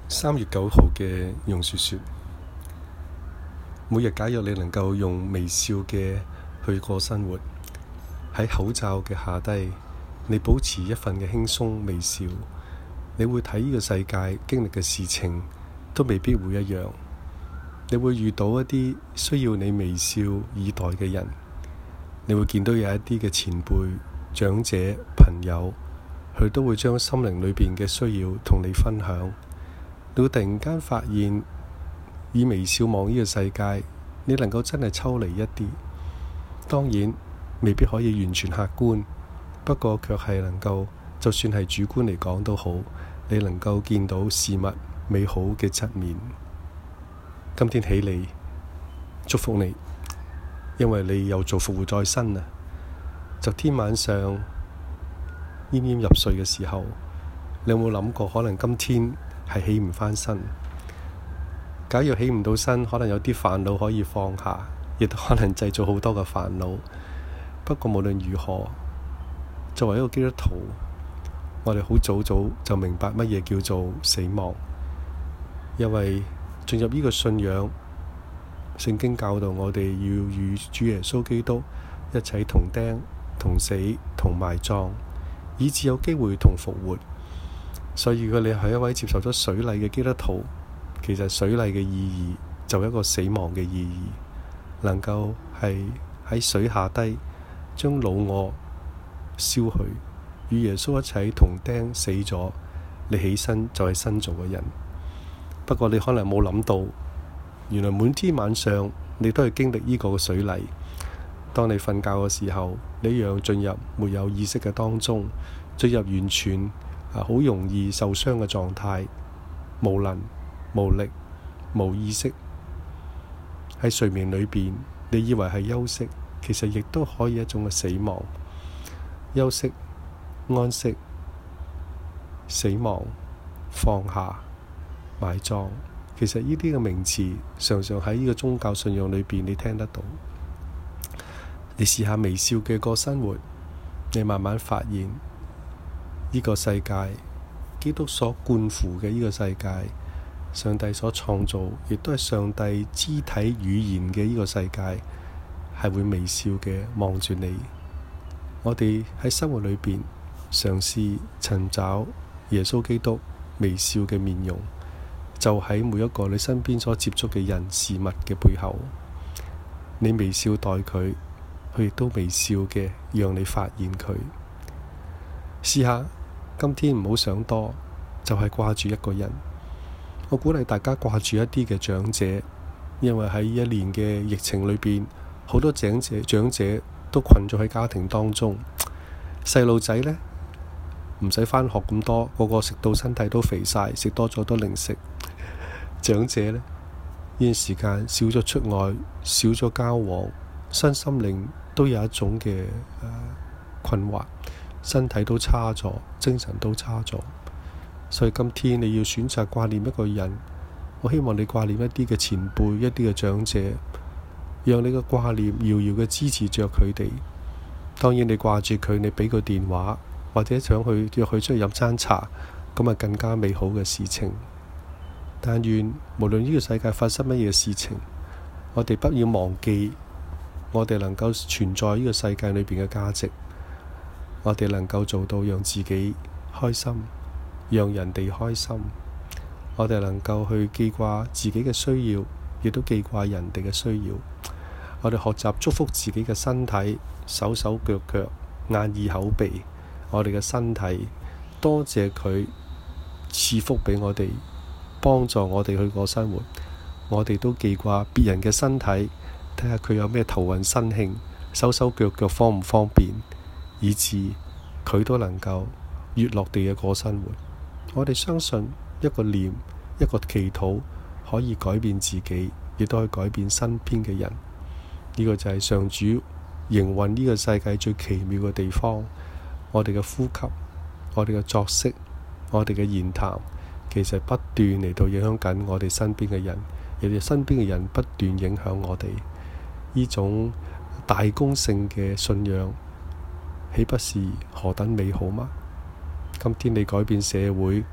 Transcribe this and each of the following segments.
3月9號嘅榕樹說，每日假若你能夠用微笑嘅去過生活，喺口罩嘅下低，你保持一份嘅輕鬆微笑，你會睇呢個世界經歷嘅事情都未必會一樣。你會遇到一啲需要你微笑以待嘅人，你會見到有一啲嘅前輩、長者、朋友，佢都會將心靈裏邊嘅需要同你分享。你會突然間發現，以微笑望呢個世界，你能夠真係抽離一啲。當然未必可以完全客觀，不過卻係能夠，就算係主觀嚟講都好，你能夠見到事物美好嘅側面。今天起嚟祝福你，因為你又做復活再生啦。昨天晚上奄奄入睡嘅時候，你有冇諗過可能今天係起唔返身？假如起唔到身，可能有啲煩惱可以放下，亦都可能製造好多嘅煩惱。不過無論如何，作為一個基督徒，我哋好早就明白乜嘢叫做死亡，因為進入呢個信仰，聖經教導我哋要與主耶穌基督一齊同釘、同死、同埋葬，以致有機會同復活。所以如果你係一位接受咗水禮嘅基督徒，其實水禮嘅意義就係一個死亡嘅意義，能夠係喺水下低將老我燒去，與耶穌一齊同釘死咗，你起身就係新造嘅人。不過你可能冇諗到，原來每天晚上你都係經歷呢個水禮。當你瞓覺嘅時候，你一樣進入沒有意識嘅當中，進入完全好容易受傷嘅狀態，無能、無力、無意識。喺睡眠裏邊，你以為係休息，其實亦都可以一種嘅死亡。休息、安息、死亡、放下、埋葬，其實呢啲嘅名詞常常喺呢個宗教信仰裏邊你聽得到。你試下微笑嘅過生活，你慢慢發現呢個世界，基督所灌付嘅呢個世界，上帝所創造，亦都係上帝肢體語言嘅呢個世界，係會微笑嘅望住你。我哋喺生活裏邊嘗試尋找耶穌基督微笑嘅面容，就喺每一個你身邊所接觸嘅人事物嘅背後，你微笑待佢，佢亦都微笑嘅讓你發現佢。試下今天唔好想多，就係掛住一個人。我鼓勵大家掛住一啲嘅長者，因為喺一年嘅疫情裏邊，好多長者都困咗喺家庭當中。細路仔呢，唔使返學咁多，個個食到身體都肥晒，食多咗都零食。長者呢，呢段時間少咗出外，少咗交往，身心靈都有一種嘅困惑，身體都差咗，精神都差咗。所以今天你要選擇掛念一個人，我希望你掛念一啲嘅前輩，一啲嘅長者，讓你嘅掛念遙遙嘅支持着佢哋。當然你掛住佢，你俾個電話或者想去約佢出去飲餐茶，咁啊更加美好嘅事情。但願無論呢個世界發生乜嘢事情，我哋不要忘記我哋能夠存在呢個世界裏邊嘅價值，我哋能夠做到讓自己開心，讓人哋開心，我哋能夠去記掛自己嘅需要，亦都記掛人哋嘅需要。我哋學習祝福自己嘅身體，手手腳腳、眼耳口鼻，我哋嘅身體，多謝佢賜福俾我哋，幫助我哋去過生活。我哋都記掛別人嘅身體，睇下佢有咩頭暈身慶，手手腳腳方唔方便，以致佢都能夠悅樂地嘅過生活。我哋相信一個念、一個祈禱可以改變自己，亦都可以改變身邊嘅人。呢個就係上主營運呢個世界最奇妙嘅地方。我哋嘅呼吸、我哋嘅作息、我哋嘅言談，其實不斷嚟到影響緊我哋身邊嘅人，亦都身邊嘅人不斷影響我哋。呢種大公性嘅信仰，豈不是何等美好嗎？今天你改變社會，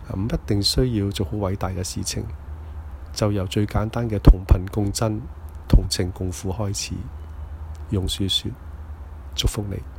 唔一定需要做好偉大嘅事情，就由最簡單嘅同頻共振、同情共苦開始。榕樹說：祝福你。